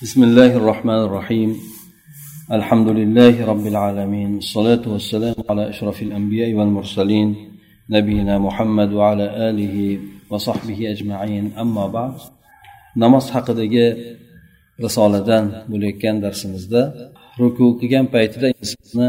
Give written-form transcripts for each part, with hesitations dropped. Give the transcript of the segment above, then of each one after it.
بسم الله الرحمن الرحيم الحمد لله رب العالمين الصلاة والسلام على أشرف الأنبياء والمرسلين نبينا محمد وعلى آله وصحبه أجمعين أما بعد namoz haqidagi risoladan bo'layotgan darsimizda ruku qilgan paytida insonni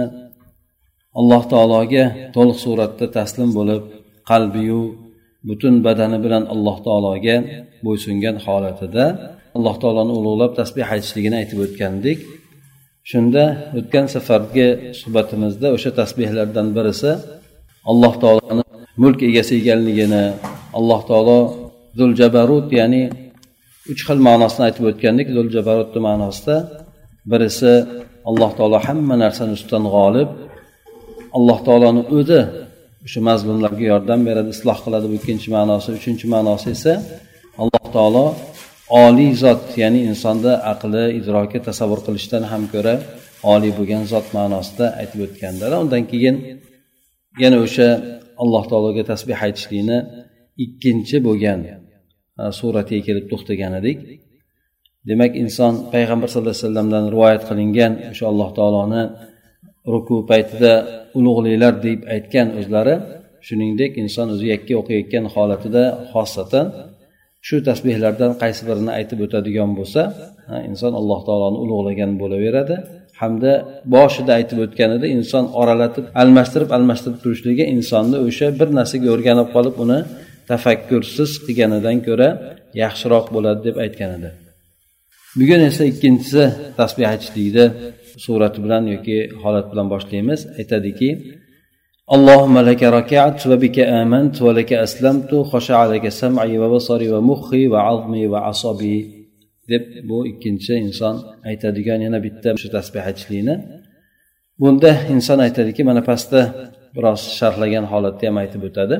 Alloh taologa to'liq suratda taslim bo'lib qalbiyu butun badani bilan Alloh taologa bo'ysungan holatida Alloh taoloni ulug'lab tasbih aytishligini aytib o'tgandik. Shunda o'tgan safargi suhbatimizda o'sha tasbihlardan birisi Alloh taoloni mulk egasi ekanligini, Alloh taolo Zul Jabarut, ya'ni 3 xil ma'nosini aytib o'tgandik. Zul Jabarut ma'nosida birisi Alloh taolo hamma narsani ustidan g'olib, Alloh taoloni o'zi o'sha mazlumlarga yordam beradi, isloh qiladi. Bu ikkinchi ma'nosi. Uchinchi ma'nosi esa Alloh taolo oliy zot, ya'ni insonda aqli, idroki, tasavvur qilishdan ham ko'ra oliy bo'lgan zot ma'nosida aytib o'tganlar. Undan keyin yana o'sha Alloh taologa tasbih aytishlikni ikkinchi bo'lgan suratiga kelib to'xtagan edik. Demak, inson payg'ambar sollallohu alayhi vasallamdan rivoyat qilingan o'sha Alloh taoloni ruku paytida ulug'liklar deb aytgan o'zlari, shuningdek inson o'zi yakka o'qiyotgan holatida xosatan shu tasbihlardan qaysi birini aytib o'tadigan bo'lsa, inson Alloh taoloni ulug'lagan bo'laveradi. Hamda boshida aytib o'tganida inson oralatib, almashtirib turishligi insonni o'sha bir narsaga o'rganib qolib, uni tafakkursiz qilganidan ko'ra yaxshiroq bo'ladi deb aytgan edi. Bugun esa ikkinchisi tasbih aytishlikda surati bilan yoki holat bilan boshlaymiz. Aytadiki: Allohumma laka raka'tu va bika amantu va laka aslamtu khasha'a laka sam'i va basari va mukhi va 'azmi va 'asabi deb bu ikkinchi inson aytadigan yana bitta shu tasbih aytishlikni. Bunda inson aytadiki, mana pastda biroz sharhlagan holatda ham aytib o'tadi.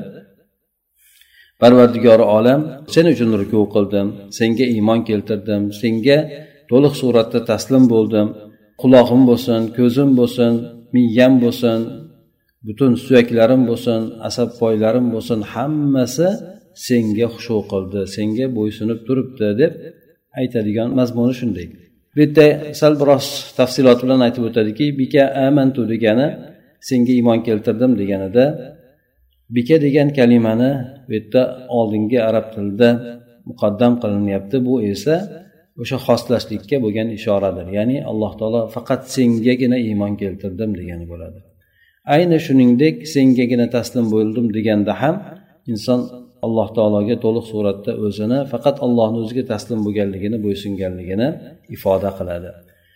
Parvardigori olam, sen uchun ruku qildim, senga iymon keltirdim, senga to'liq suratda taslim bo'ldim. Quloqim bo'lsin, ko'zim bo'lsin, miyam bo'lsin, butun suyaklarim bo'lsin, asab poylarim bo'lsin, hammasi senga xushu qildi, senga bo'ysunib turibdi deb aytadigan mazmuni shunday. Bu yerda sal biroz tafsilot bilan aytib o'tadiki, bika amantu degani senga iymon keltirdim deganida, bika degan kalimani bu yerda oldingi arab tilida muqaddam qilinyapti. Bu esa o'sha xoslashlikka bo'lgan ishoradir. Ya'ni Alloh taolo faqat sengagina iymon keltirdim degani bo'ladi. Ayni shuningdek sengagina taslim bo'ldim deganda ham inson Alloh taologa to'liq suratda o'zini faqat Allohning o'ziga taslim bo'lganligini, bo'ysunganligini ifoda qiladi.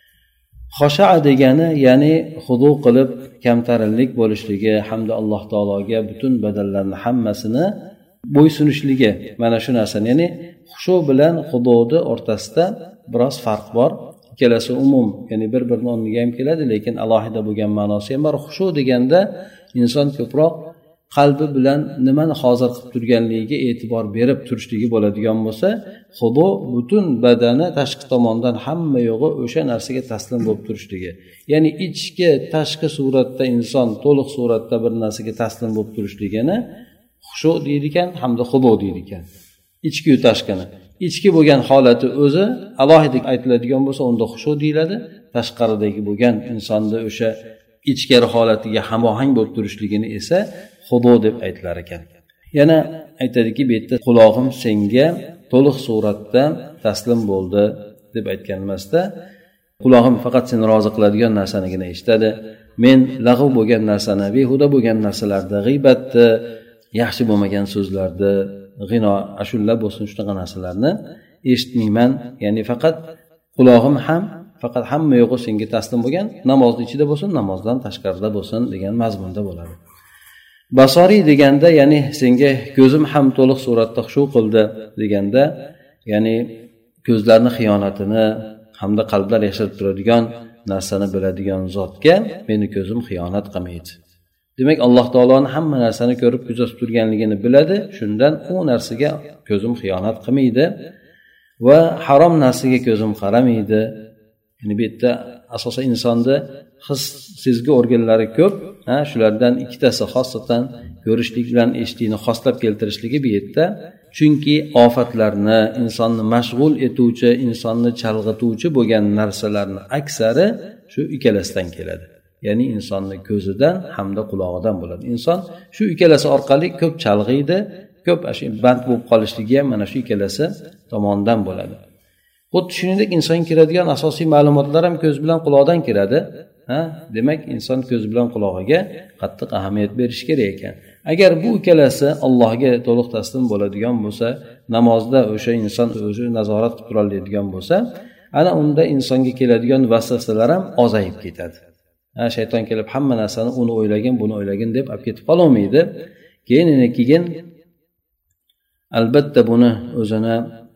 Xosha'a degani ya'ni xudu qilib kamtarinlik bo'lishligi hamda Alloh taologa butun badallarning hammasini bo'ysunishligi. Mana shu narsa, ya'ni xushu bilan xudoni o'rtasida biroz farq bor. Ikkalasi umum, ya'ni bir-birini o'rniga ham keladi, lekin alohida bo'lgan ma'nosi ham bor. Xushu deganda inson ko'proq qalbi bilan nimani hozir qilib turganligiga e'tibor berib turishligi bo'ladigan bo'lsa, xudo butun badani tashqi tomondan hamma yo'g'i o'sha narsaga taslim bo'lib turishligi. Ya'ni ichki, tashqi suratda inson to'liq suratda bir narsaga taslim bo'lib turishligini xushu deydi ekan, hamda xudo deydi ekan. Ichki yu tashqini. Ichki bo'lgan holati o'zi alohida aytiladigan bo'lsa, unda xushu deyiladi. Tashqaridagi bo'lgan insonda o'sha ichkari holatiga hamohang bo'lib turishligini esa xudo deb aytilar ekan. Yana aytadiki, bu yerda quloqim senga to'liq suratda taslim bo'ldi deb aytganimizda, quloqim faqat seni rozi qiladigan narsanigina eshitadi. Men lag'v bo'lgan narsani, behuda bo'lgan narsalarni, g'iybatni, yaxshi bo'lmagan so'zlarni, g'ino, ashulla bo'lsin, shunaqa narsalarni eshitmayman. Ya'ni faqat quloqim ham faqat hamma yo'g'i senga taslim bo'lgan, namozning ichida bo'lsin, namozdan tashqarida bo'lsin degan mazmunda bo'ladi. Basori deganda, ya'ni senga ko'zim ham to'liq suratda xushu qildi deganda, ya'ni ko'zlarning xiyonatini hamda qalblar yashirib turadigan narsani biladigan zotga meni ko'zim xiyonat qilmaydi. Demak, Alloh taoloning hamma narsani ko'rib kuzatib turganligini biladi. Shundan u narsaga ko'zim xiyonat qilmaydi va harom narsaga ko'zim qaramaydi. Ya'ni bu yerda asosan insonda his, sezgi organlari ko'p. Shulardan ikkitasi xosatan ko'rishlik bilan eshitishni xoslab keltirishligi bu yerda chunki ofatlarni, insonni mashg'ul etuvchi, insonni chalg'ituvchi bo'lgan narsalarni aksari shu ikkalasidan keladi. Ya'ni insonni ko'zidan hamda qulog'idan bo'ladi. Inson shu ikkalasi orqali ko'p chalg'iydi, ko'p band bo'lib qolishligi ham mana shu ikkalasi tomonidan bo'ladi. Xuddi shuningdek inson kiradigan asosiy ma'lumotlar ham ko'z bilan quloqdan kiradi. Demak, inson ko'z bilan qulog'iga qattiq ahamiyat berish kerak ekan. Agar bu ikkalasi Allohga to'liq taslim bo'ladigan bo'lsa, namozda o'sha inson o'zi nazorat qilib tura oladigan bo'lsa, ana unda insonga keladigan vasvasalar ham ozayib ketadi. Shayton kelib hamma narsani uni o'ylagin, buni o'ylagin deb olib ketib qolmaydi. Keyin albatta buni o'zini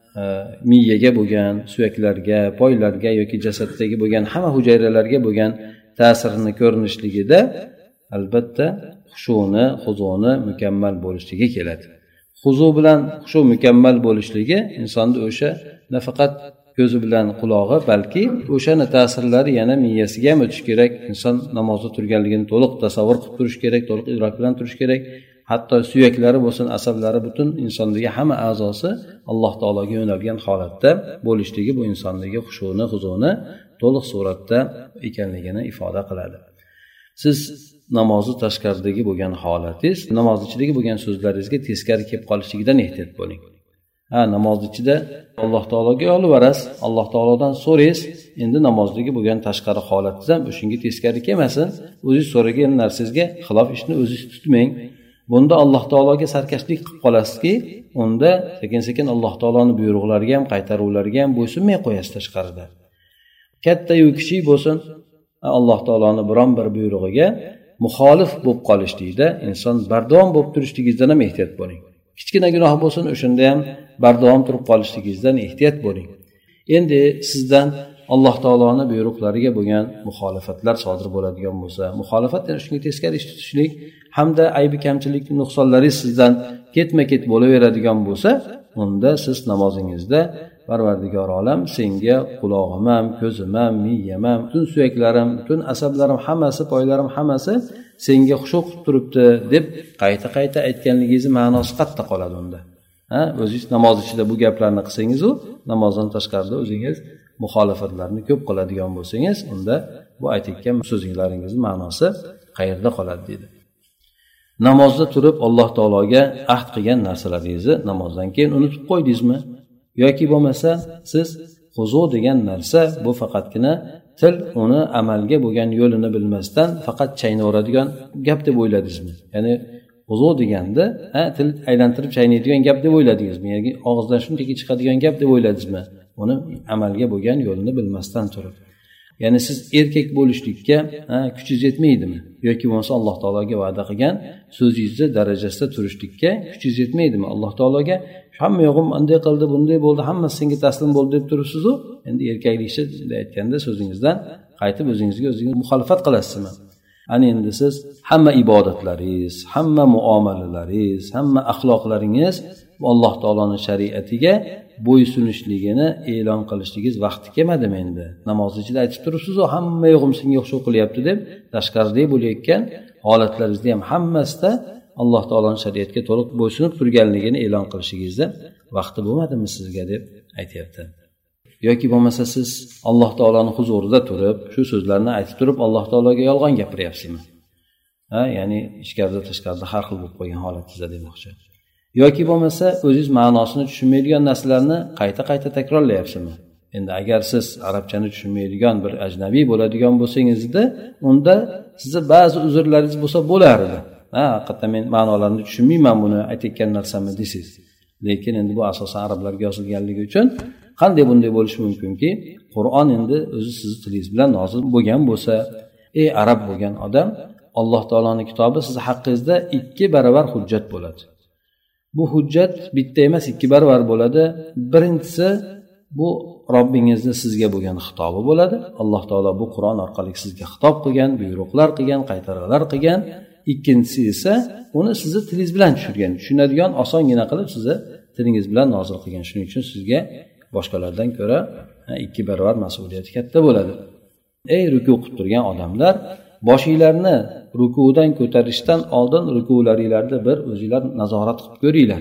miyaga bo'lgan, suyaklarga, poylarga yoki jasaddagi bo'lgan hamma hujayralarga bo'lgan ta'sirini ko'rinishligida albatta xushuni, huzuni mukammal bo'lishligi keladi. Huzu bilan xushu mukammal bo'lishligi insonda o'sha nafaqat ko'zi bilan qulog'i, balki o'shani ta'sirlari yana miyasiga ham o'tish kerak. Inson namozda turganligini to'liq tasavvur qilib turish kerak, to'liq idrok bilan turish kerak. Hatto suyaklari bo'lsin, asablari, butun insondagi hamma a'zosi Alloh taologa yo'nalgan holatda bo'lishligi bu insondagi xushuni, huzuni to'liq suratda ekanligini ifoda qiladi. Siz namozni tashqaridagi bo'lgan holatingiz, namoz ichidagi bo'lgan so'zlaringizga teskari kelib qolishligidan ehtiyot bo'ling. Namoz ichida Alloh taologa yolvorasiz, Alloh taolodan so'raysiz. Endi namozdagi bo'lgan tashqari holatingiz ham o'shunga teskari kelmasin. O'zingiz so'ragan narsangizga xilof ishni o'zingiz tutmang. Bunda Alloh taologa sarkashlik qilib qolasizki, unda sekin-sekin Alloh taoloning buyruqlariga ham, qaytaruvlariga ham bo'ysunmay qo'yasiz tashqarida. Katta yoki kichik bo'lsin, Alloh taoloning biron bir buyrug'iga muxolif bo'lib qolishlikda inson bardavom bo'lib turishligingizdan ham ehtiyot bo'ling. Kichkina gunoh bo'lsin, o'shanda ham bardavom turib qolishligingizdan ehtiyot bo'ling. Endi sizdan Alloh taoloning buyruqlariga bo'lgan muxolifatlar sodir bo'ladigan bo'lsa, muxolifat yana shunga teskari ish tutishlik hamda aybi kamchilik nuqsonlaringiz sizdan ketma-ket bo'laveradigan bo'lsa, unda siz namozingizda Parvardigor olam senga qulog'im ham, ko'zim ham, miyam ham, butun suyaklarim, butun asablarim hammasi, poylarim hammasi senga xushu' qilib turibdi deb qayta-qayta aytganligingizning ma'nosi qayerda qoladi unda? O'zingiz namoz ichida bu gaplarni qilsangiz, namozdan tashqarida o'zingiz muxolifatlarni ko'p qiladigan bo'lsangiz, unda bu aytgan so'zinglaringizning ma'nosi qayerda qoladi dedi. Namozda turib Alloh taologa ahd qilgan narsalaringizni namozdan keyin unutib qo'ydingizmi? Yoki bo'lmasa siz huzu degan narsa bu faqatgina til uni amalga bo'lgan yo'lini bilmasdan faqat chaynaveradigan gap deb o'yladingizmi? Ya'ni huzu deganda til aylantirib chaynaydigan gap deb o'yladingizmi? Yoki og'izdan shunchaki chiqadigan gap deb o'yladingizmi? Uni amalga bo'lgan yo'lini bilmasdan turib. Ya'ni siz erkak bo'lishlikka kuchingiz yetmaydimi? Yoki bo'lmasa Alloh taologa va'da qilgan so'zingizni darajasida turishlikka kuchingiz yetmaydimi? Alloh taologa hamma yo'g'im bunday qildi, bunday bo'ldi, hammasi senga taslim bo'ldi deb turibsiz-ku. Endi erkaklikcha aytganda so'zingizdan qaytib o'zingizga muxolifat qilasizmi? Ana endi siz hamma ibodatlaringiz, hamma muomalalaringiz, hamma axloqlaringiz Alloh taoloning shariatiga bo'ysunishligini e'lon qilishligingiz vaqti kelmadimi endi? Namoz ichida aytib turibsiz-ku, hamma yo'g'im senga o'xshab qilyapti deb, tashqaridagi bo'layotgan holatlaringizda ham hammasida Alloh taoloning shariatiga to'liq bo'ysunib turganligini e'lon qilishingizda vaqti bo'lmadimi sizga deb aytayapti. Yoki bo'lmasa siz Alloh taoloning huzurida turib, shu so'zlarni aytib turib Alloh taologa yolg'on gapiryapsizmi? Ya'ni ichkarida tashqarida har xil bo'lib qolgan holatingizda demoqchi. Yoki bo'lmasa o'zingiz ma'nosini tushunmaydigan narsalarni qayta-qayta takrorlayapsizmi? Endi agar siz arabchani tushunmaydigan bir ajnabiy bo'ladigan bo'lsangizda, unda sizga ba'zi uzrlaringiz bo'lsa bo'lardi. Haqiqatan men ma'nolarini tushunmayman buni aytayotgan narsamni deysiz. Lekin endi bu asosan arablarga yozilganligi uchun qanday bunday bo'lishi mumkinki, Qur'on endi o'zi sizni tilingiz bilan nozil bo'lgan bo'lsa, arab bo'lgan odam, Alloh taoloning kitobi siz haqqingizda 2 barobar hujjat bo'ladi. Bu hujjat bitta emas 2 barobar bo'ladi. Birinchisi bu Robbingizni sizga bo'lgan xitobi bo'ladi. Alloh taolo bu Qur'on orqali sizga xitob qilgan, buyruqlar qilgan, qaytaruvlar qilgan. Ikkinchisi esa uni sizni tilingiz bilan tushirgan, tushunadigan osongina qilib sizni tilingiz bilan nozil qilgan. Shuning uchun sizga boshqalardan ko'ra 2 barobar mas'uliyati katta bo'ladi. Ey ruku qilib turgan odamlar, boshinglarni rukudan ko'tarishdan oldin rukularingizda bir o'zingizlar nazorat qilib ko'ringlar.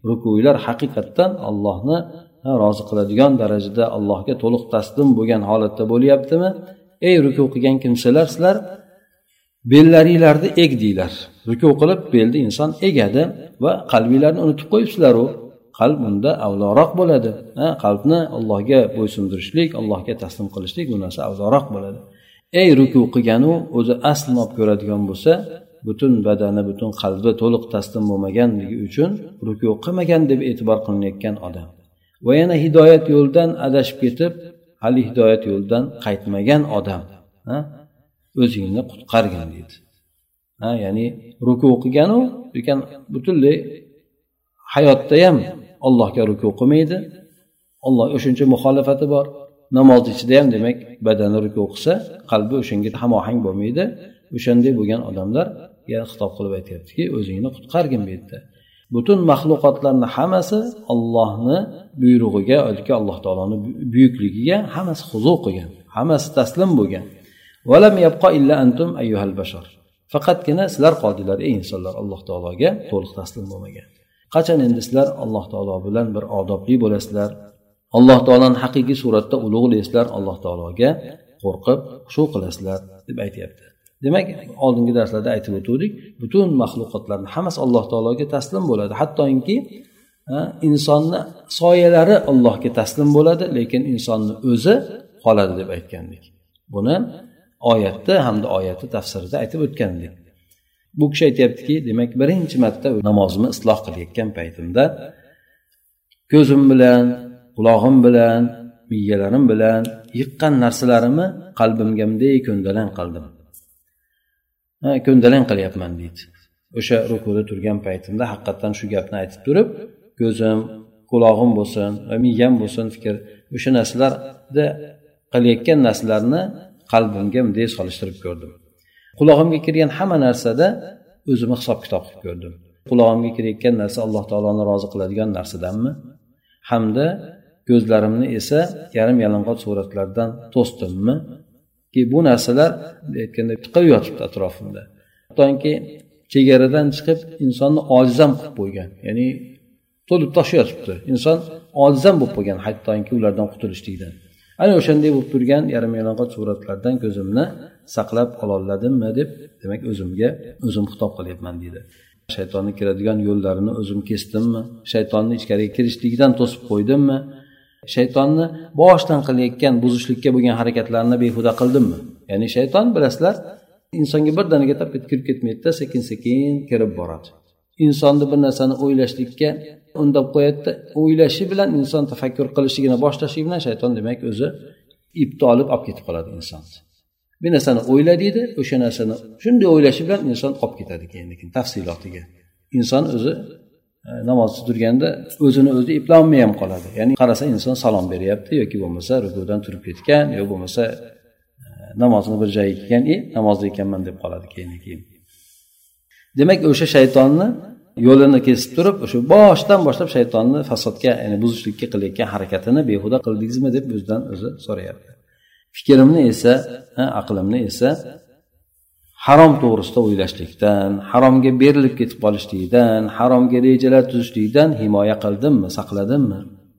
rukular haqiqatdan Allohni rozi qiladigan darajada Allohga to'liq taslim bo'lgan holatda bo'lyaptimi? Ey ruku qilgan kimsalar, sizlar bellaringlarni egdinglar. Ruku qilib belni inson egadi va qalbinglarni unutib qo'yibsizlar. Qalb unda avloroq bo'ladi. Qalbni Allohga bo'ysundirishlik, Allohga taslim qilishlik bu narsa avloroq bo'ladi. Ey ruku qilganu o'zi aslini olib ko'radigan bo'lsa, butun badani, butun qalbi to'liq taslim bo'lmaganligi uchun ruku qilmagan deb e'tibor qilinayotgan odam. Va yana hidoyat yo'ldan adashib ketib, hali hidoyat yo'ldan qaytmagan odam, o'zingni qutqargin deydi. Ya'ni ruku qilganu, lekin butunlay hayotda ham Allohga ruku qilmaydi. Alloh o'shuncha muxolifati bor. Namoz ichida ham demak badani ruku qilsa, qalbi o'shanga hamohang bo'lmaydi. O'shanday bo'lgan odamlarga xitob qilib aytayaptiki, o'zingni qutqargin bu yerda. Butun maxluqotlarning hammasi Allohni buyrug'iga, yoki Alloh taoloning buyukligiga hammasi huzu qilgan, hammasi taslim bo'lgan. Valam yabqa illa antum ayyuhal bashar. Faqatgina sizlar qoldinglar ey insonlar Alloh taologa to'liq taslim bo'lmagan. Qachon endi sizlar Alloh taolo bilan bir odobli bo'lasizlar, Alloh taolani haqiqiy suratda ulug'laysizlar, Alloh taologa qo'rqib xushu qilasizlar deb aytayapti. Demak, oldingi darslarda aytib o'tdik, butun maxluqotlarning hammasi Alloh taologa taslim bo'ladi. Hattoki insonni soyalari Allohga taslim bo'ladi, lekin insonni o'zi qoladi deb aytgandik. Buni oyatda hamda oyati tafsirida aytib o'tgandik. Bu kishi aytayaptiki, demak, birinchi marta namozimni isloh qilayotgan paytimda ko'zim bilan, quloqim bilan, miyalarim bilan yiqqan narsalarimni qalbimga bunday ko'ndalang qildim. Ko'ndalang qilyapman deydi. O'sha rukuda turgan paytimda haqiqatan shu gapni aytib turib, ko'zim, quloqim bo'lsin, miyam bo'lsin, fikr, o'sha narsalarda qilayotgan narsalarni qalbimga bunday solishtirib ko'rdim. Quloqimga kirgan hamma narsada o'zimni hisob-kitob qilib ko'rdim. Quloqimga kirayotgan narsa Alloh taoloni rozi qiladigan narsadanmi? Hamda ko'zlarimni esa yarim-yalang'och suratlardan to'sdimmi? Ki bu narsalar aytganda tiqib yotibdi atrofimda. Hattoki chegaradan chiqib insonni ojizam qilib qo'ygan. Ya'ni to'lib toshayotibdi. Inson ojizam bo'lib qolgan, hattoki ulardan qutulishlikdan. Ana o'shanday bo'lib turgan yarim-yalang'och suratlardan ko'zimni saqlab qololmadimmi deb, demak o'zimga o'zim xitob qilyapman deydi. Shaytonning kiradigan yo'llarini o'zim kesdimmi? Shaytonning ichkariga kirishligidan to'sib qo'ydimmi? Shaytonni boshdan qilayotgan buzishlikka bo'lgan harakatlarni behuda qildimmi? Ya'ni shayton bilasizlar, insonga birdaniga tapib kirib ketmaydi-da, sekin-sekin kirib boradi. Insonni bir narsani o'ylashlikka undab qo'yadi. O'ylashi bilan inson tafakkur qilishligini boshlashi bilan shayton demak o'zi ipni olib ketib qoladi inson. Bir narsani o'yla deydi, o'sha narsani shunday o'ylashi bilan inson olib ketadi keyin tafsilotiga. Inson o'zi namozda turganda o'zini o'zi eplolmay ham qoladi. Ya'ni qarasa inson salom beryapti yoki bo'lmasa rukudan turib ketgan yoki bo'lmasa namozni bir joyiga kelgan, namozda ekanman deb qoladi keyin. Demak, o'sha shaytonni yo'lini kesib turib, o'sha boshdan boshlab shaytonni fasodga, ya'ni buzishlikka qilayotgan harakatini behuda qildingizmi deb o'zidan o'zi so'rayapti. Fikrimni esa, aqlimni esa harom to'g'risida o'ylashlikdan, haromga berilib ketib qolishlikdan, haromga rejalar tuzishlikdan himoya qildimmi, saqladimmi?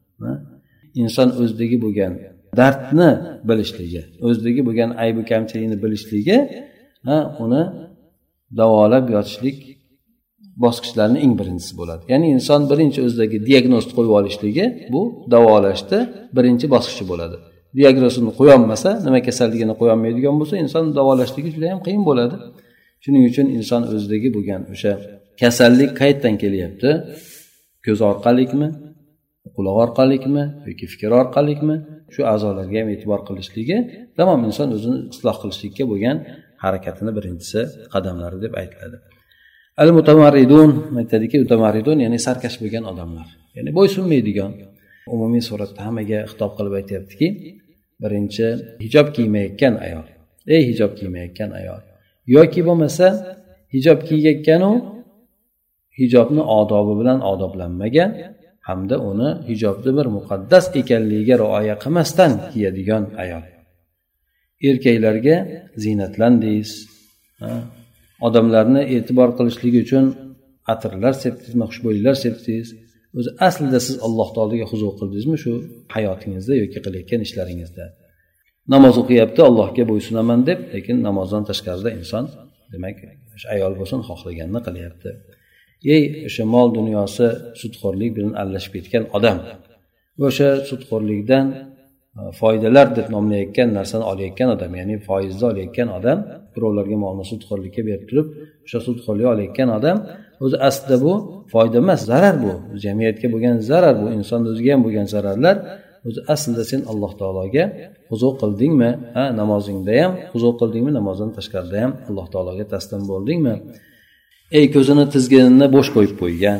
Inson o'zidagi bo'lgan dardni bilishligi, o'zidagi bo'lgan ayb va kamchilikni bilishligi, uni davolab yotishlik bosqichlarining eng birinchisi bo'ladi. Ya'ni inson birinchi o'zidagi diagnozni qo'yib olishligi bu davolashda birinchi bosqichi bo'ladi. Diagnozini qo'ya olmasa, nima kasalligini qo'ya olmaydigan bo'lsa, inson davolashligi juda ham qiyin bo'ladi. Shuning uchun inson o'zidagi bo'lgan o'sha kasallik qayerdan kelyapti? Ko'z orqalikmi, quloq orqalikmi yoki fikr orqalikmi? Shu a'zolarga ham e'tibor qilishligi, tamom inson o'zini isloh qilishlikka bo'lgan harakatini birinchisi qadamlari deb aytiladi. Al-mutamarridun, aytadiki, mutamarridun ya'ni sarkash bo'lgan odamlar. Ya'ni bo'ysunmaydigan, umumiy suratda hammaga xitob qilib aytayaptiki, birinchi hijob kiymayotgan ayol. Ey hijob kiymayotgan ayol. Yoki bo'lmasa hijob kiyganu hijobni odobi bilan odoblanmagan hamda uni hijobni bir muqaddas ekanligiga rioya qilmasdan kiyadigan ayol. Erkaklarga ziynatlandingiz, odamlarni e'tibor qilishligi uchun atirlar sepdingizmi, xushbo'yliklar sepdingiz, o'zi aslida siz Alloh taologa huzur qildingizmi shu hayotingizda yoki qilayotgan ishlaringizda? Namoz o'qiyapti, Allohga bo'ysunaman deb, lekin namozdan tashqarida inson, demak, o'sha ayol bo'lsin, xohlaganini qilyapti. O'sha mol dunyosi sudxo'rlik bilan aralashib ketgan odam, o'sha sudxo'rlikdan foydalar deb nomlayotgan narsani olayotgan odam, ya'ni foizda olayotgan odam, birovlarga molni sudxo'rlikka berib turib, o'sha sudxo'rlik olayotgan odam, o'zi aslida bu foyda emas, zarar bu. Jamiyatga bo'lgan zarar bu, insonning o'ziga ham bo'lgan zararlar. O'zi aslida sen Alloh taologa huzur qildingmi? Namozingda ham huzur qildingmi? Namozdan tashqarida ham Alloh taologa taslim bo'ldingmi? Ko'zini tizginini bo'sh qo'yib qo'ygan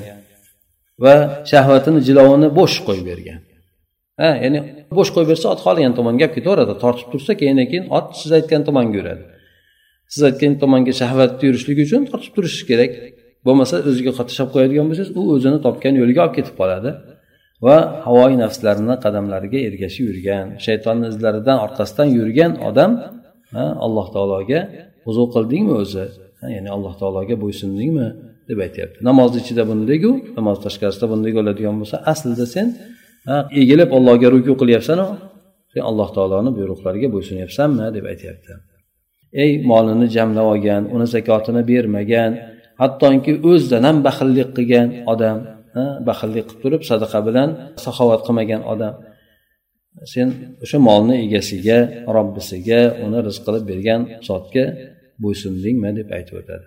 va shahvatini jilovini bo'sh qo'yib bergan. Ya'ni bo'sh qo'yib bersa ot xohlagan tomonga gap ketaveradi. Tortib tursa keyin ot siz aytgan tomonga yuradi. Siz aytgan tomonga shahvatni yurishligi uchun tortib turish kerak. Bo'lmasa o'ziga qatishab qo'yadigan bo'lsangiz, u o'zini topgan yo'liga olib ketib qoladi. Va havoyi nafslarining qadamlariga ergashib yurgan, shaytonning izlaridan orqasidan yurgan odam Alloh taologa huzur qildingmi o'zi? Ya'ni Alloh taologa bo'ysundingmi deb aytayapti. Namoz ichida bunday-ku, namoz tashqarisida bunday bo'ladigan bo'lsa, aslida sen egilib Allohga ruku qilyapsan-ku, sen Alloh taoloning buyruqlariga bo'ysunyapsanmi deb aytayapti. Molini jamlab olgan, uni zakotini bermagan, hattoki o'zidan ham baxillik qilgan odam, baxillik qilib turib sadaqa bilan saxovat qilmagan odam, sen o'sha molni egasiga, Robbisiga, uni rizq qilib bergan zotga bo'ysundingmi deb aytib o'tadi.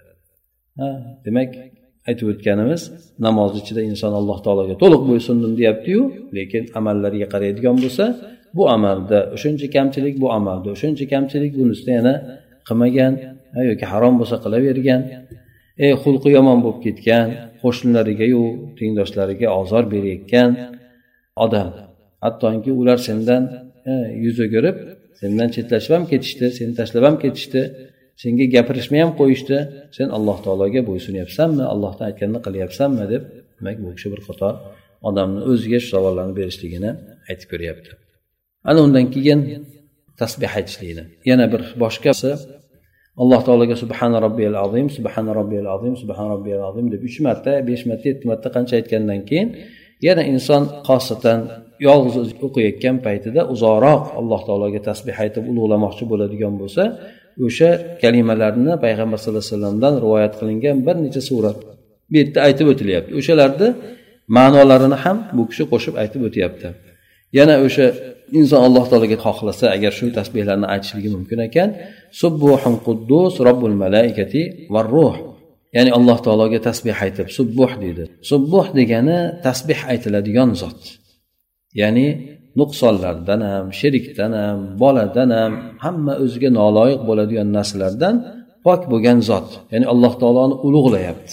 Demak, aytib o'tganimiz, namoz ichida inson Alloh taologa to'liq bo'ysundim deyapti-yu, lekin amallariga qaraydigan bo'lsa, bu amalda o'shuncha kamchilik, bu amalda o'shuncha kamchilik, bunisida yana qilmagan yoki harom bo'lsa qilavergan, xulqi yomon bo'lib ketgan, qo'shnilariga-yu tengdoshlariga ozor berayotgan odam, hattoki ular sendan yuz o'girib, sendan chetlashib ham ketishdi, seni tashlab ham ketishdi, senga gapirishmay ham qo'yishdi, sen Alloh taologa bo'ysunyapsanmi, Allohdan aytganini qilyapsanmi deb, demak bu kishi bir qator odamning o'ziga shu savollarni berishligini aytib ko'ryapti. Ana undan keyin tasbih aytishlikni. Yana bir boshqasi Alloh taologa subhana robbiyal azim, subhana robbiyal azim, subhana robbiyal azim deb 3 marta, 5 marta, 7 marta qancha aytgandan keyin yana inson xosatan yolg'iz o'qiyotgan paytida uzoqroq Alloh taologa tasbih aytib ulug'lamoqchi bo'ladigan bo'lsa, o'sha kalimalarni payg'ambar sollallohu alayhi vasallamdan rivoyat qilingan bir necha surat bu yerda aytib o'tilyapti. O'shalarni ma'nolarini ham bu kishi qo'shib aytib o'tyapti. Yana o'sha inson Alloh taologa xohlasa agar shu tasbihlarni aytishligi mumkin ekan, subbuhun quddus robbul malaikati var ruh. Ya'ni Alloh taologa tasbih aytib subbuh deydi. Subbuh degani tasbih aytiladigan zot. Ya'ni nuqsonlardan ham, shirkdan ham, boladan ham, hamma o'ziga noloyiq bo'ladigan narsalardan pok bo'lgan zot. Ya'ni Alloh taoloni ulug'layapti.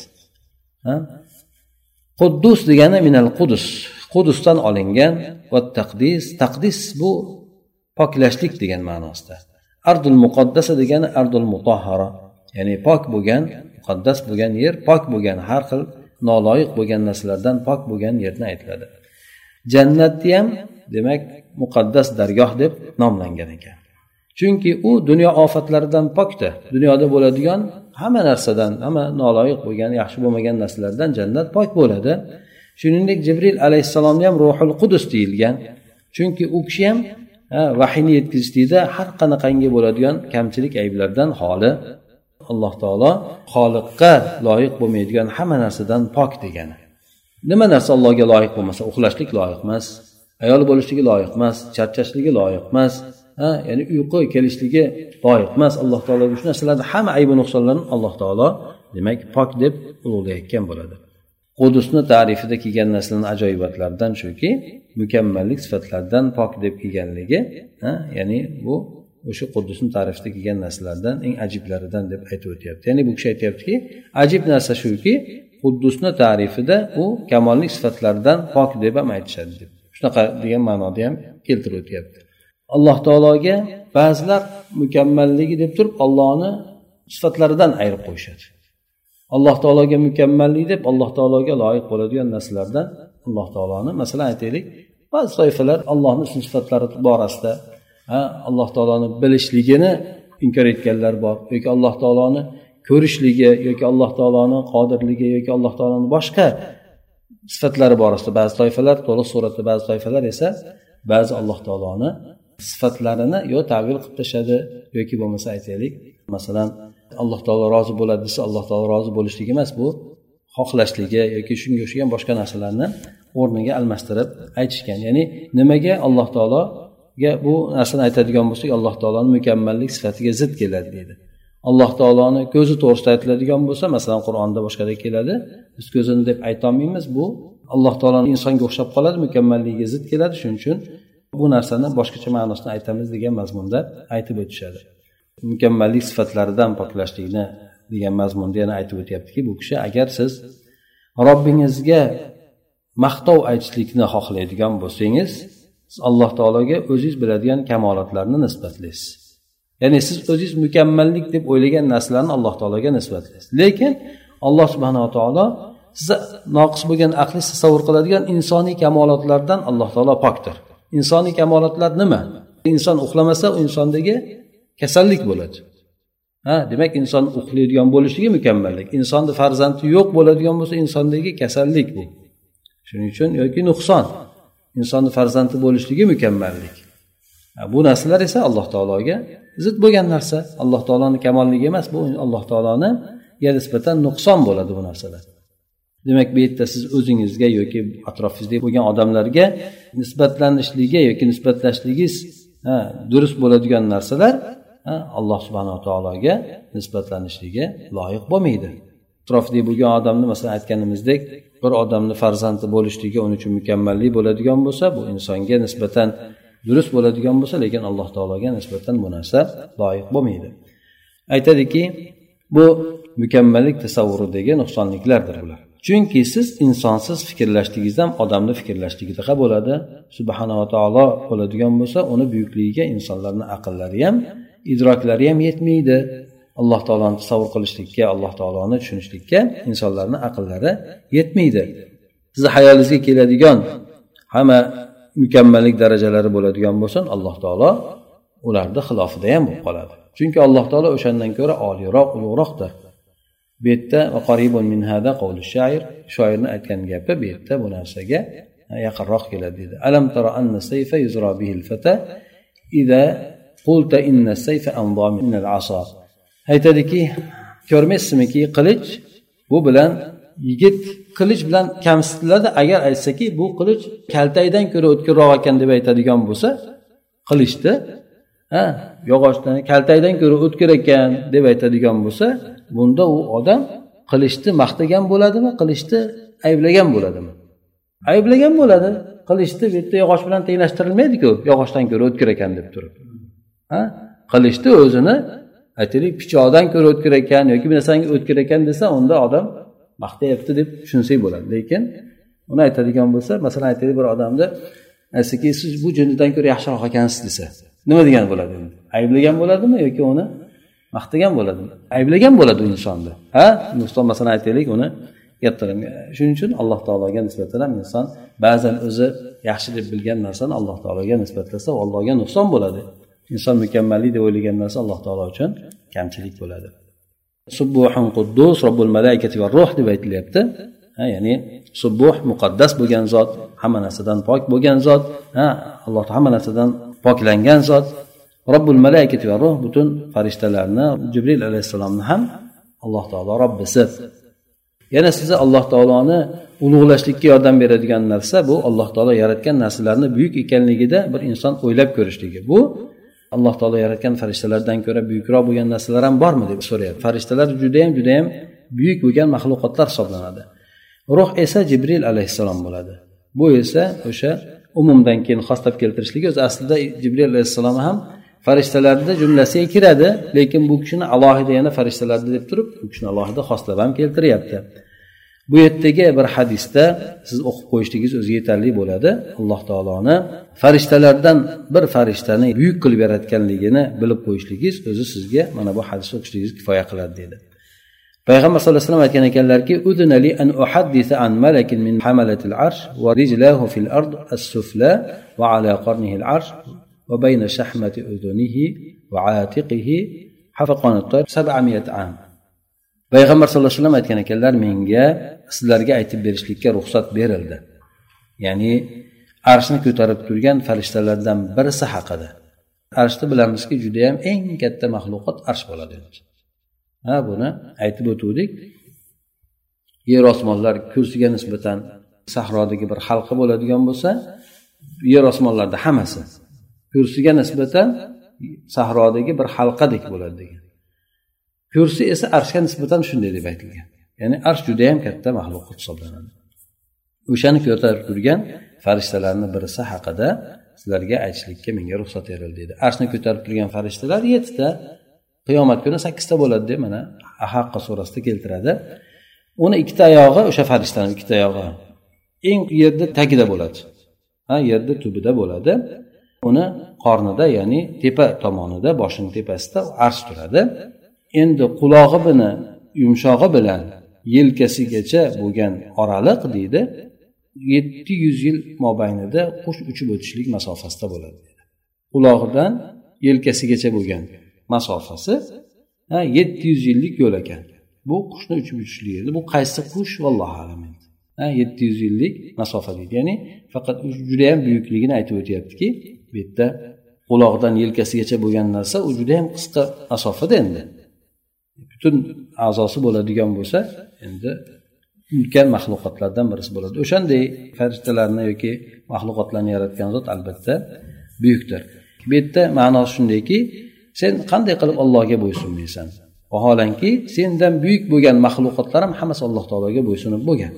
Quddus degani minal qudus. Qudusdan olingan va taqdis, taqdis bu poklashlik degan ma'nosida. Ardul muqaddasa degani ardul mutahhara, ya'ni pok bo'lgan, muqaddas bo'lgan yer, pok bo'lgan har xil noloyiq bo'lgan narsalardan pok bo'lgan yerni aytiladi. Jannatni ham demak muqaddas dargoh deb nomlangan ekan. Chunki u dunyo ofatlaridan pokda. Dunyoda bo'ladigan hamma narsadan, hamma noloyiq bo'lgan, yaxshi bo'lmagan narsalardan jannat pok bo'ladi. Shuningdek Jibril alayhissalomga ham Ruhul Qudus deyilgan. Chunki u kishi ham vahiyni yetkazishda har qanaqangi bo'ladigan kamchilik ayblardan xoli. Alloh taolo xoliqqa loyiq bo'lmaydigan hamma narsadan pok degani. Nima narsa Allohga loyiq bo'lmasa, uxlashlik loyiq emas, ayol bo'lishligi loyiq emas, charchashligi loyiq emas, ya'ni uyqu kelishligi loyiq emas. Alloh taologa shu narsalarning hamma aybi nuqsonlarini Alloh taolo demak pok deb ulug'layotgan bo'ladi. Qudusni ta'rifida kelgan narsalarning ajoyibotlaridan shuki, mukammallik sifatlaridan pok deb kelganligi, ya'ni bu o'sha Qudusni ta'rifida kelgan narsalardan eng ajiblaridan deb aytib o'tyapti. Ya'ni bu kishi aytayaptiki, ajib narsa shuki, Qudusni ta'rifida u kamollik sifatlaridan pok deb ham aytishadi deb. Shunaqa degan ma'noda ham keltirib o'tyapti. Alloh taologa ba'zilar mukammalligi deb turib Allohni sifatlaridan ayirib qo'yishadi. Alloh taologa mukammallik deb Alloh taologa loyiq bo'ladigan narsalardan Alloh taoloni, masalan aytaylik, ba'zi toifalar Allohning ism sifatlari borasida Alloh taoloni bilishligini inkor etganlar bor, yoki Alloh taoloni ko'rishligi yoki Alloh taoloni qodirligi yoki Alloh taoloni boshqa sifatlari borasida ba'zi toifalar to'liq suratda, ba'zi toifalar esa ba'zi Alloh taoloni sifatlarini yo ta'vil qilib tashladi yoki bo'lmasa aytaylik, masalan Alloh taolo rozi bo'ladi desa, Alloh taolo rozi bo'lishligi emas, bu xohlashligi yoki shunga o'xshagan boshqa narsalarni o'rniga almashtirib aytishgan. Ya'ni nimaga Alloh taologa bu narsani aytadigan bo'lsak, Alloh taoloning mukammallik sifatiga zid keladi deydi. Alloh taoloni ko'zi to'g'risida aytiladigan bo'lsa, masalan Qur'onda boshqada keladi, biz ko'zini deb ayta olmaymiz, bu Alloh taoloning insonga o'xshab qoladi, mukammalligiga zid keladi, shuning uchun bu narsani boshqacha ma'nosini aytamiz degan mazmunda aytib o'tishadi. Mukammallik sifatlaridan poklashlikni degan mazmunda yana aytib o'tyaptiki, bu kishi agar siz Robbingizga maqtov aytishlikni xohlaydigan bo'lsangiz, siz Alloh taologa o'zingiz biladigan kamolotlarni nisbatlaysiz. Ya'ni siz o'zingiz mukammallik deb o'ylagan narsalarni Alloh taologa nisbatlaysiz. Lekin Alloh subhanahu va taolo siz noqis bo'lgan aqli tasavvur qiladigan insoniy kamolotlardan Alloh taolo pokdir. Insoniy kamolotlar nima? Inson uxlamasa, u insondagi kasallik bo'ladi. Demak inson uxlaydigan bo'lishligi mukammallik. Insonning farzandi yo'q bo'ladigan bo'lsa, insondagi kasallik bu. Shuning uchun yoki nuqson. Insonning farzandi bo'lishligi mukammallik. Bu narsalar esa Alloh taologa zid bo'lgan narsa. Alloh taoloning kamolligi emas, bu Alloh taologa nisbatan nuqson bo'ladi bu narsalar. Demak, bu yerda siz o'zingizga yoki atrofingizda bo'lgan odamlarga nisbatlanishligi yoki nisbatlashligingiz durust bo'ladigan narsalar Alloh subhanahu va taologa nisbatlanishligi loyiq bo'lmaydi. Atrofida bo'lgan odamni masalan aytganimizdek, bir odamni farzandi bo'lishligi uning uchun mukammallik bo'ladigan bo'lsa, bu insonga nisbatan durust bo'ladigan bo'lsa, lekin Alloh taologa nisbatan bu narsa loyiq bo'lmaydi. Aytadiki, bu mukammallik tasavvuridagi nuqsonliklardir bular. Chunki siz insonsiz fikrlashligingizdan odamni fikrlashligidaqa bo'ladi. Subhanahu va taolo bo'ladigan bo'lsa, uni buyukligiga insonlarning aqllari ham, idroklari ham yetmaydi. Alloh taoloni tasavvur qilishlikka, Alloh taoloni tushunishlikka insonlarning aqllari yetmaydi. Siz hayolingizga keladigan hamma mukammallik darajalari bo'ladigan bo'lsin, Alloh taolo ularning xilofida ham bo'lib qoladi. Chunki Alloh taolo o'shandan ko'ra oliyroq, ulug'roqdir. Bu yerda qaribun min hada qawli shoir, shoirning aytgan gapi bu yerda bu narsaga yaqinroq keladi dedi. Alam tara anna sayfa yuzra bihi al-fata idza qulta inna sayfa anza min al-asa. Aytadiki, ko'rmaysizmiki, qilich bu bilan yigit qilich bilan kamsitiladi agar aytsaki bu qilich kaltaydan ko'ra o'tkirroq ekan deb aytadigan bo'lsa, qilichni yog'ochdan kaltaydan ko'ra o'tkir ekan deb aytadigan bo'lsa, bunda u odam qilichni maqtagan bo'ladimi, qilichni ayblagan bo'ladimi? Ayblagan bo'ladi. Qilichni bu yerda yog'och bilan tenglashtirilmaydi-ku, yog'ochdan ko'ra o'tkir ekan deb turib. Qilichni o'zini aytaylik pichoqdan ko'ra o'tkir ekan yoki bir narsanga o'tkir ekan desa, unda odam maqtayapti deb tushunsak bo'ladi. Lekin uni aytadigan bo'lsa, masalan aytaylik bir odamni aytsaki, siz bu jinnidan ko'ra yaxshiroq ekansiz desa, nima degan bo'ladi? Ayblagan bo'ladimi yoki uni maqtagan bo'ladimi? Ayblagan bo'ladi u insonni. Nuqson masalan aytaylik uni yettirim. Shuning uchun Alloh taologa nisbatan ham inson ba'zan o'zi yaxshi deb bilgan narsani Alloh taologa nisbatlasa, Allohga nuqson bo'ladi. Inson mukammallik deb o'ylagan narsa Alloh taolo uchun kamchilik bo'ladi. Subbuhun quddus robbul malaikati va ruh deb aytilyapti. Ya'ni subbuh muqaddas bo'lgan zot, hamma narsadan pok bo'lgan zot, Alloh hamma narsadan poklangan zot. Robbul malaikati va ruh butun farishtalarni, Jibril alayhisalomni ham Alloh taolo Robbisi. Yana sizni Alloh taoloni ulug'lashlikka yordam beradigan narsa bu Alloh taolo yaratgan narsalarni buyuk ekanligida bir inson o'ylab ko'rishligi. Bu Alloh taolo yaratgan farishtalardan ko'ra buyukroq bo'lgan narsalar ham bormi deb so'rayapti. Farishtalar juda ham buyuk bo'lgan maxluqotlar hisoblanadi. Ruh esa Jibril alayhisalom bo'ladi. Bu esa o'sha umumdan keyin xoslab keltirishlik o'zi aslida Jibril alayhisalom ham farishtalarning jumlasiga kiradi, lekin bu kishini alohida yana farishtalarda deb turib, bu kishini alohida xoslab ham keltiryapti. Bu yerdagi bir hadisda siz o'qib qo'yishligingiz o'zi yetarli bo'ladi. Alloh taoloni farishtalardan bir farishtani buyuk qilib yaratganligini bilib qo'yishligingiz o'zi sizga mana bu hadisni o'qishligingiz kifoya qiladi dedi. Payg'ambar sollallohu alayhi vasallam aytgan ekanlarki, "Udnali an uhaddisa an malakin min hamalatil arsh wa rijlahu fil ard as-sufla wa ala qarnihi al-arsh va bayna shahmati udunihi va atiqihi hafaqan at-tayr 700 am." payg'ambar sallallohu alayhi vasallam aytgan ekanlar, menga sizlarga aytib berishlikka ruxsat berildi, ya'ni arshni ko'tarib turgan farishtalardan birisi haqida. Arshni bilamizki, juda ham eng katta maxluqot arsh bo'ladi. Buni aytib o'tdik. Yer osmonlar kursiga nisbatan sahrodagi bir halqa bo'ladigan bo'lsa, yer osmonlarda hammasi kursiga nisbatan sahrodagi bir halqadek bo'ladi degan. Kursi esa arshga nisbatan shunday deb aytilgan. Ya'ni arsh juda ham katta maxluqot hisoblanadi. O'shani ko'tarib turgan farishtalarning birisi haqida sizlarga aytishlikka menga ruxsat berildi dedi. Arshni ko'tarib turgan farishtalar 7 ta, qiyomat kuni 8 ta bo'ladi deb mana Haqqa surasida keltiradi. Uni 2 ta oyog'i, o'sha farishtaning 2 ta oyog'i eng yerda tagida bo'ladi. Yerda tubida bo'ladi. Uni qornida, ya'ni tepa tomonida, boshining tepasida arsh turadi. Endi qulog'i bilan yumshog'i bilan yelkasigacha bo'lgan oraliq deydi 700 yil mobaynida qush uchib o'tishlik masofasida bo'ladi. Qulog'idan yelkasigacha bo'lgan masofasi 700 yillik yo'l ekan. Bu qushni uchib o'tishligi. Bu qaysi qush vallohu alam. 700 yillik masofa deydi. Ya'ni faqat juda ham buyukligini aytib o'tyaptiki, bu yerda quloqdan yelkasigacha bo'lgan narsa u juda ham qisqa masofada endi. Butun a'zosi bo'ladigan bo'lsa, endi ulkan maxluqotlardan birisi bo'ladi. O'shanday farishtalarni yoki maxluqotlarni yaratgan zot albatta buyukdir. Bu yerda ma'nosi shundayki, sen qanday qilib Allohga bo'ysunmaysan? Vaholanki sendan buyuk bo'lgan maxluqotlar ham hammasi Alloh taologa bo'ysunib bo'lgan.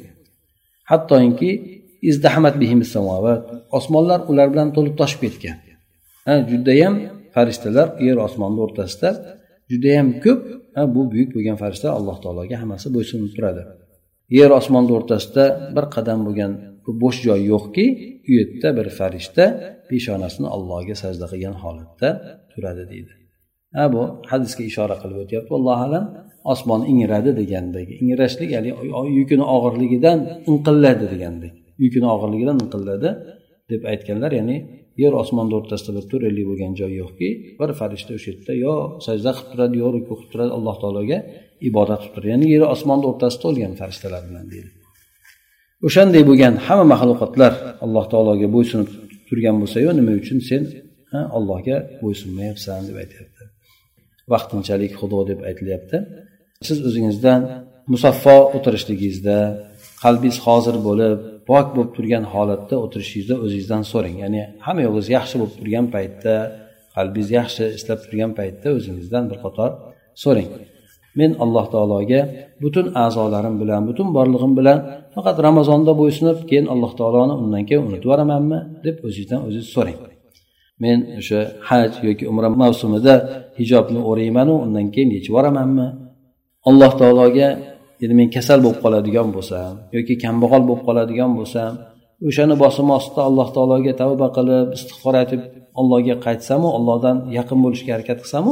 Hattoki izdahmat bihimis samovat, osmonlar ular bilan to'lib toshib ketgan. Juda ham farishtalar yer osmonning o'rtasida juda ham ko'p. Bu buyuk bo'lgan farishtalar Alloh taologa hammasi bo'ysunib turadi. Yer osmonning o'rtasida bir qadam bo'lgan bo'sh joy yo'qki, u yerda bir farishta peshonasini Allohga sajda qilgan holatda turadi deydi. Bu hadisga ishora qilib o'tyapti. Alloh alam osmon ingradi degandagi. Ingrashlik ya'ni yukini og'irligidan inqilladi degandek. Yukini og'irligidan inqilladi deb aytganlar, ya'ni yer osmonning o'rtasida bir to'ralik bo'lgan joy yo'qki, bir farishta o'sha yerda yo sajda qilib turadi, yo ruku qilib turadi, Alloh taologa ibodat qilib turadi. Ya'ni yer osmonning o'rtasida bo'lgan farishtalar bilan deydi. O'shanday bo'lgan hamma maxluqotlar Alloh taologa bo'ysunib turgan bo'lsa-yu, nima uchun sen Allohga bo'ysunmayapsan deb aytayapti. Vaqtinchalik xudo deb aytilyapti. Siz o'zingizdan musaffo o'tirishligingizda, qalbingiz hozir bo'lib, pok bo'lib turgan holatda o'tirishingizda o'zingizdan so'rang. Ya'ni hamma yo'g'ingiz yaxshi bo'lib turgan paytda, qalbingiz yaxshi ishlab turgan paytda o'zingizdan bir qator so'rang. Men Alloh taologa butun a'zolarim bilan, butun borlig'im bilan faqat Ramazonda bo'ysunib, keyin Alloh taoloni undan keyin unutib yuboramanmi deb o'zingizdan o'zingiz so'rang. Men o'sha haj yoki umra mavsumida hijobni o'rayman u undan keyin yechib yuboramanmi? Alloh taologa endi men kasal bo'lib qoladigan bo'lsam yoki kambag'al bo'lib qoladigan bo'lsam, o'shani bosim ostida Alloh taologa tavba qilib, istig'for aytib Allohga qaytsam-u, Allohdan yaqin bo'lishga harakat qilsam-u,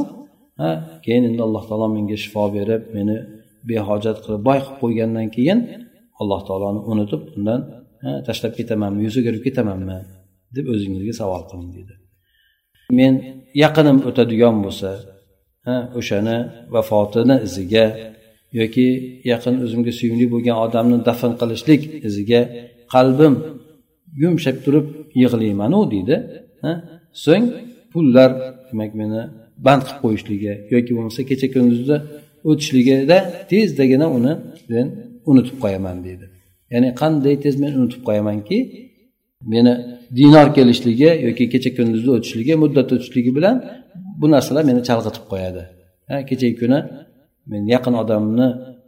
keyin endi Alloh taolo menga shifo berib, meni behojat qilib boy qilib qo'ygandan keyin Alloh taoloni unutib, undan tashlab ketamanmi, yuzi o'girib ketamanmi deb o'zingizga savol qiling dedi. Men yaqinim o'tadigan bo'lsa, o'shani vafotini iziga yoki yaqin o'zimga suyimli bo'lgan odamni dafn qilishlik iziga qalbim yumshab turib yig'layman-u deydi. So'ng pullar demak meni band qilib qo'yishligi yoki bo'lmasa kecha kunduzda o'tishligida tezdagina uni men unutib qo'yaman deydi. Ya'ni qanday tez men unutib qo'yamanki, meni dinor kelishligi yoki kecha kunduzda o'tishligi, muddat o'tishligi bilan bu narsalar meni chalg'itib qo'yadi. Kechagi kuni men yaqin odamni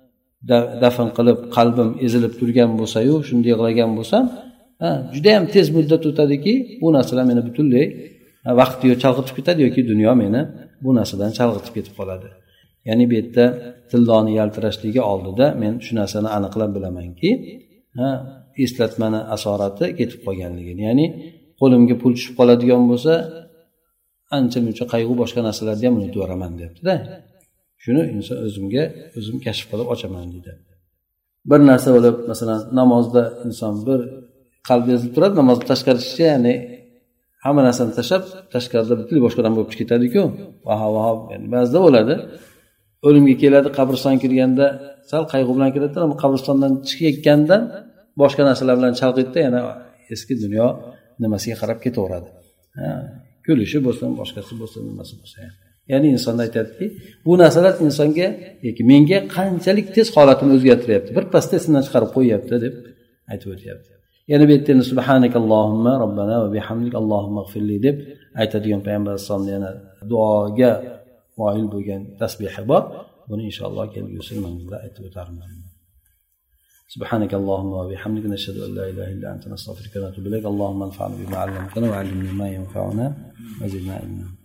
dafn qilib qalbim ezilib turgan bo'lsa-yu, shunday yig'lagan bo'lsam, juda ham tez muddat o'tadiki, bu narsalar meni butunlay vaqtni chalg'itib ketadi yoki dunyo meni bu narsadan chalg'itib ketib qoladi. Ya'ni bu yerda tildoni yaltirashligi oldida men shu narsani aniqlab bilamanki, eslatmani asorati ketib qolganligini. Ya'ni qo'limga pul tushib qoladigan bo'lsa, ancha-muncha qayg'u boshqa narsalarni ham unutib yuboraman deyapti-da. Shuni inson o'zim kashf qilib ochaman deydi. Bir narsa bo'lib, masalan, namozda inson bir qalbi ezilib turadi, namozni tashqarisiga, ya'ni hamma narsani tashlab, tashqarida butunlay boshqa odam bo'lib ketadi-ku. Vaho, ya'ni ba'zida bo'ladi. o'limga keladi, qabristonga kirganda sal qayg'u bilan kiradi, ammo qabristondan chiqayotgandan boshqa narsalar bilan chalg'iydi, yana eski dunyo nimasiga qarab ketaveradi. Kulishi bo'lsin, boshqasi bo'lsin, nimasi bo'lsa. Ya'ni inson aytadiki, bu narsalar insonga yoki menga qanchalik tez holatini o'zgartiryapti, bir pasda esimdan chiqarib qo'yyapti deb aytib o'tyapti. Yana bu yerda subhanakallohumma robbana va bihamdik allohumma g'firli deb aytadigan payg'ambar alayhisolamning yana duoga moyil bo'lgan tasbihi bor. Buni inshaalloh kelgusi manzilda aytib o'tarman. Subhanakallohumma va bihamdika nashhadu an la ilaha illa anta nastaghfiruka va natubu ilayk. Allohumma anfa'na bima 'allamtana wa 'allimna ma yanfa'una wa zidna ilma.